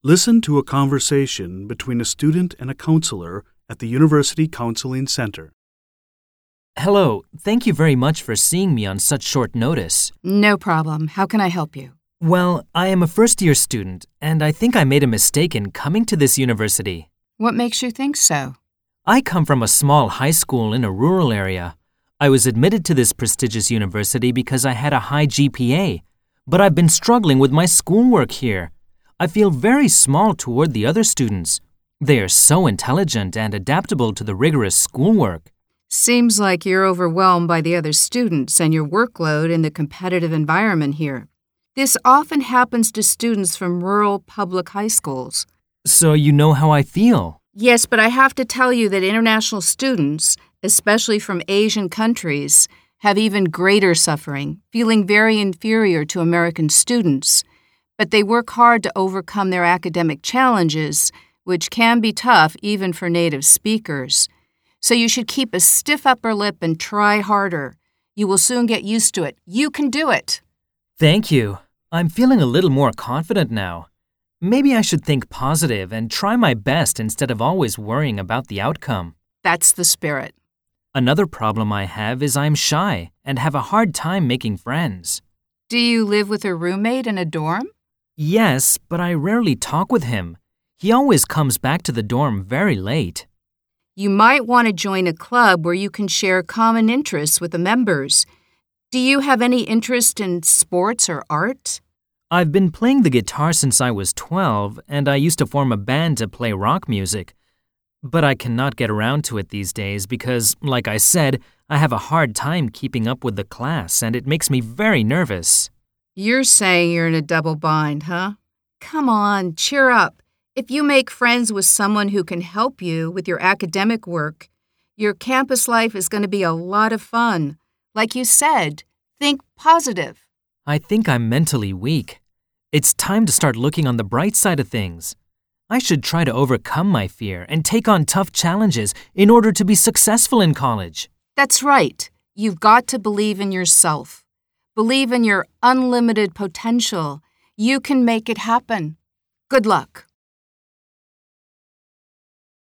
Listen to a conversation between a student and a counselor at the University Counseling Center. Hello, thank you very much for seeing me on such short notice. No problem. How can I help you? Well, I am a first-year student, and I think I made a mistake in coming to this university. What makes you think so? I come from a small high school in a rural area. I was admitted to this prestigious university because I had a high GPA, but I've been struggling with my schoolwork here. I feel very small toward the other students. They are so intelligent and adaptable to the rigorous schoolwork. Seems like you're overwhelmed by the other students and your workload in the competitive environment here. This often happens to students from rural public high schools. So you know how I feel. Yes, but I have to tell you that international students, especially from Asian countries, have even greater suffering, feeling very inferior to American students. But they work hard to overcome their academic challenges, which can be tough even for native speakers. So you should keep a stiff upper lip and try harder. You will soon get used to it. You can do it. Thank you. I'm feeling a little more confident now. Maybe I should think positive and try my best instead of always worrying about the outcome. That's the spirit. Another problem I have is I'm shy and have a hard time making friends. Do you live with a roommate in a dorm? Yes, but I rarely talk with him. He always comes back to the dorm very late. You might want to join a club where you can share common interests with the members. Do you have any interest in sports or art? I've been playing the guitar since I was 12, and I used to form a band to play rock music. But I cannot get around to it these days because, like I said, I have a hard time keeping up with the class, and it makes me very nervous. You're saying you're in a double bind, huh? Come on, cheer up. If you make friends with someone who can help you with your academic work, your campus life is going to be a lot of fun. Like you said, think positive. I think I'm mentally weak. It's time to start looking on the bright side of things. I should try to overcome my fear and take on tough challenges in order to be successful in college. That's right. You've got to believe in yourself. Believe in your unlimited potential. You can make it happen. Good luck.